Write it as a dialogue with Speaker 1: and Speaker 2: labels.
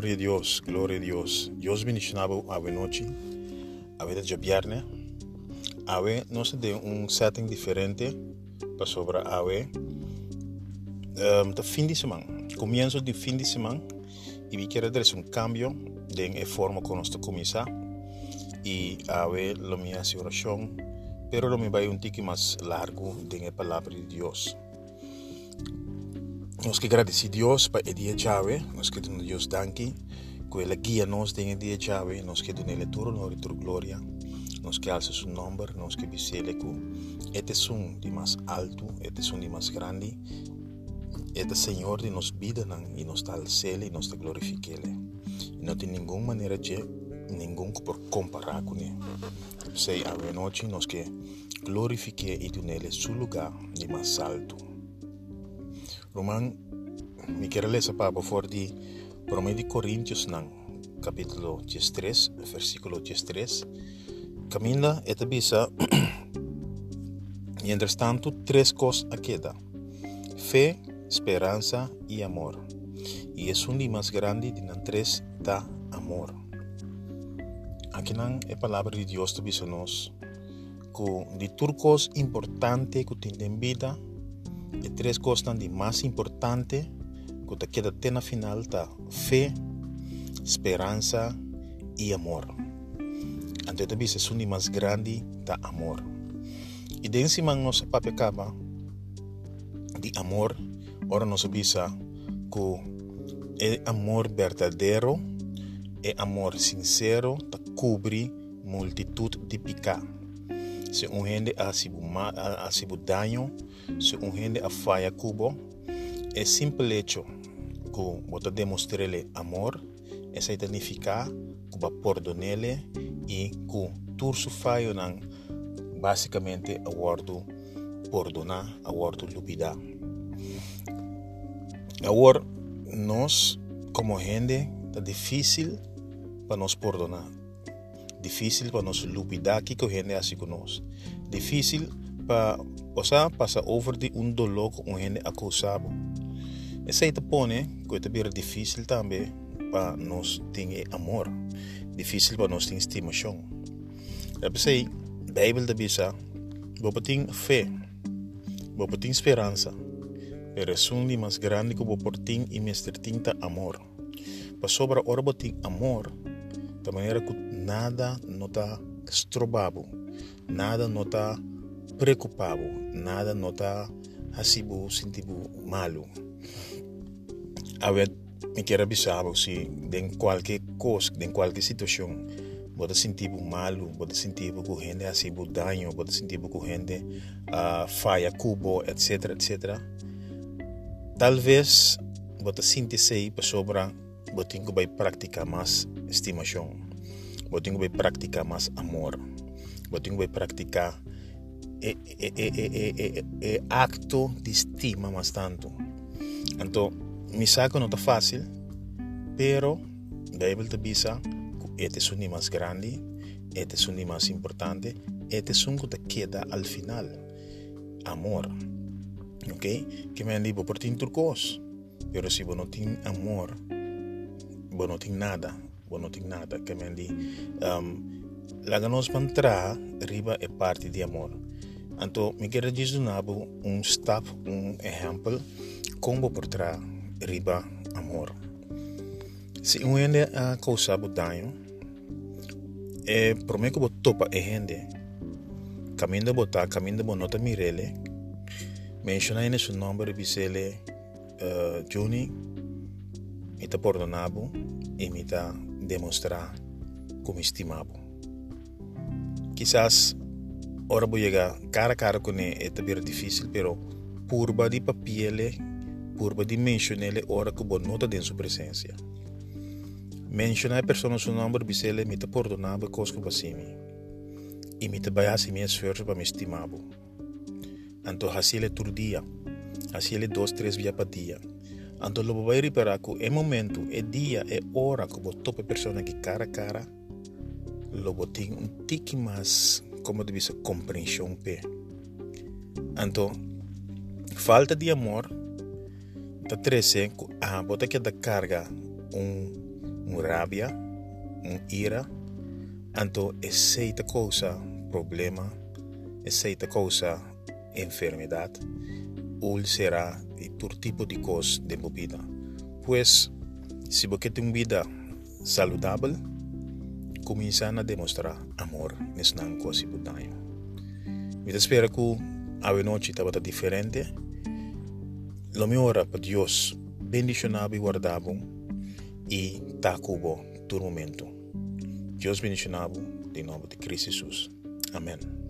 Speaker 1: Gloria a Dios, gloria a Dios. Dios bendicionado a noite, a ver de viernes. A ver, no sé de un setting diferente para sobre a ver. De fin de semana, comienzo de fin de semana y vi que era un cambio de en forma con nuestra comenzar y a ver lo mi hace oración, pero lo me va un tique más largo de la palabra de Dios. Nos que agradecer a Dios para el día llave, nos que Dios danke, que la guía nos de el día llave, nos que donde todo honor y toda gloria, nos que alza su nombre, nos que bisele que este es un de más alto, este es un de más grande, este Señor de nos vida y nos da el cielo y nos da glorifiquele. No tiene ninguna manera de ningún por comparar con él. Sei a noche nos que glorifique y tunele su lugar de más alto. Román, me quiero leer para por de 1 Corintios capítulo 13, versículo 13. Camina esta bisa y entre tanto tres cosas queda: fe, esperanza y amor. Y es un de más grande de las tres da amor. Aquí la palabra de Dios te dice nos que de turcos importante que tiene en vida, de tres cosas de más importante que te queda en la final ta fe, esperanza y amor. Entonces te dice es un de más grande da amor. Y de encima nos papecaba de amor, ahora nos dice que el amor verdadero, el amor sincero, te cubre multitud de pecados. Se un gente ha sido daño, se un gente ha falla cubo, el simple hecho que vos demostrarle amor, eso significa que va a perdonarle y que todo su fallo básicamente a guardo perdonar, a guardo olvidar. Ahora, nos como gente es difícil para nos perdonar, difícil para nos olvidar que gente hace con nos, difícil para pasar over de un dolor con gente acusado. Eso te pone que es difícil también para nos tener amor, difícil para nos tener estimación. La Biblia te dice, vos tenés fe, vos tenés esperanza, pero es un más grande que vos tenés y me tinta amor. Para sobre ahora vos tenés amor, de manera que nada no está estrobado, nada no está preocupado, nada no está así sentido malo. A ver, me quiero avisar si en cualquier cosa, en cualquier situación, vos te sentir malo, vos te sentir que gente así daño, vos te sentir que gente falla cubo, etcétera, etcétera. Tal vez vos te sientes ahí para sobra, vos tengo que practicar más estimación, vos tengo que practicar más amor, vos tengo que practicar acto de estima más tanto. Entonces, mi saco no está fácil, pero la Biblia te dice que este es un más grande, este es un más importante, este es un que te queda al final, amor. ¿Ok? Que me han dicho por ti turcos, pero si vos no tienes amor, vos no tienes nada, que me han dicho. La que nos va a entrar arriba es parte de amor. Entonces, me quiero decir un step, un ejemplo, como por atrás arriba amor. Si un gente ha causado daño, por mí que vos topa a gente, camino de vos no te mirele, menciona en su nombre, bisele, Johnny, me te perdonado y me te demostrar como estimado. Quizás ahora voy a llegar cara a cara con él, es difícil, pero purba de papieles, purba de mencionarle ahora que vos no te en su presencia. Menciona a persona su nombre, bisele, me te perdonado cosas que pasé y me te vaya a hacer mi esfuerzo para me estimado. Entonces, así le día, así le 2-3 días para día. Entonces, lo voy a reparar que el momento, el día, el hora que vos tope persona que cara a cara, lo voy a tener un tique más, como te dice, comprensión. Entonces, falta de amor, te trece, vos te queda carga rabia, ira, anto essa causa problema, essa causa enfermedade, ou será todo tipo de coisa de vida. Pois, se você tem uma vida saudável, começa a demonstrar amor nessa coisa que você tem. Eu espero que a noite estava diferente. Lo mejor para Deus, bendicionado e guardado, e está cubo todo momento. Deus bendicionado, em nome de Cristo Jesus. Amém.